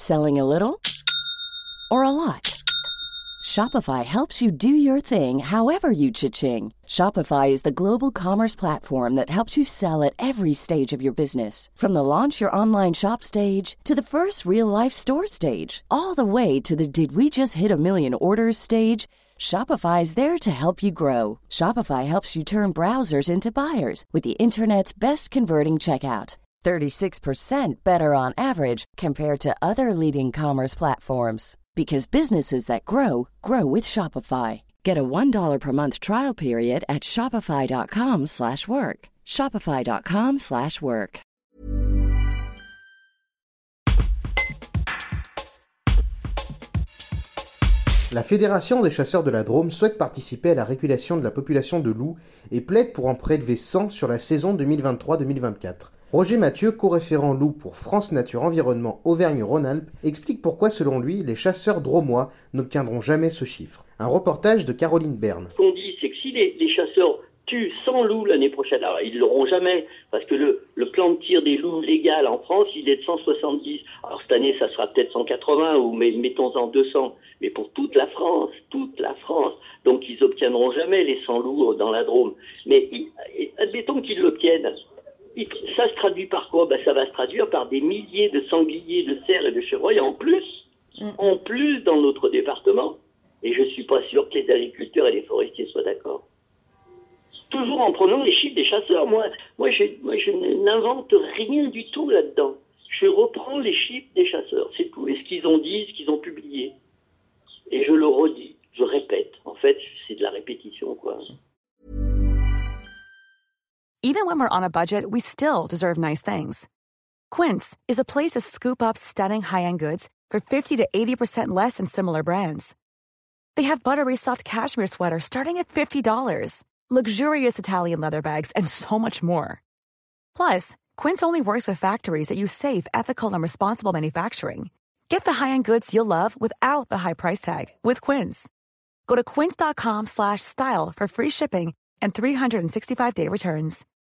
Selling a little or a lot? Shopify helps you do your thing however you cha-ching. Shopify is the global commerce platform that helps you sell at every stage of your business. From the launch your online shop stage to the first real-life store stage, all the way to the did we just hit a million orders stage. Shopify is there to help you grow. Shopify helps you turn browsers into buyers with the internet's best converting checkout. 36% better on average compared to other leading commerce platforms. Because businesses that grow, grow with Shopify. Get a $1 per month trial period at shopify.com/work. Shopify.com/work. La Fédération des chasseurs de la Drôme souhaite participer à la régulation de la population de loups et plaide pour en prélever 100 sur la saison 2023-2024. Roger Mathieu, co-référent loup pour France Nature Environnement Auvergne-Rhône-Alpes, explique pourquoi, selon lui, les chasseurs drômois n'obtiendront jamais ce chiffre. Un reportage de Caroline Berne. Ce qu'on dit, c'est que si les chasseurs tuent 100 loups l'année prochaine, alors ils ne l'auront jamais, parce que le plan de tir des loups légal en France, il est de 170. Alors cette année, ça sera peut-être 180, ou mettons-en 200. Mais pour toute la France. Donc ils n'obtiendront jamais les 100 loups dans la Drôme. Mais admettons qu'ils l'obtiennent. Ça se traduit par quoi? Ça va se traduire par des milliers de sangliers, de cerfs et de chevreuils en plus dans notre département. Et je suis pas sûr que les agriculteurs et les forestiers soient d'accord. Toujours en prenant les chiffres des chasseurs. Moi, je n'invente rien du tout là-dedans. Je reprends les chiffres des chasseurs, c'est tout. Et ce qu'ils ont dit, ce qu'ils ont publié. Et je le redis, je répète. En fait, c'est de la répétition, quoi. Even when we're on a budget, we still deserve nice things. Quince is a place to scoop up stunning high-end goods for 50 to 80% less than similar brands. They have buttery soft cashmere sweaters starting at $50, luxurious Italian leather bags, and so much more. Plus, Quince only works with factories that use safe, ethical, and responsible manufacturing. Get the high-end goods you'll love without the high price tag with Quince. Go to quince.com/style for free shipping and 365-day returns.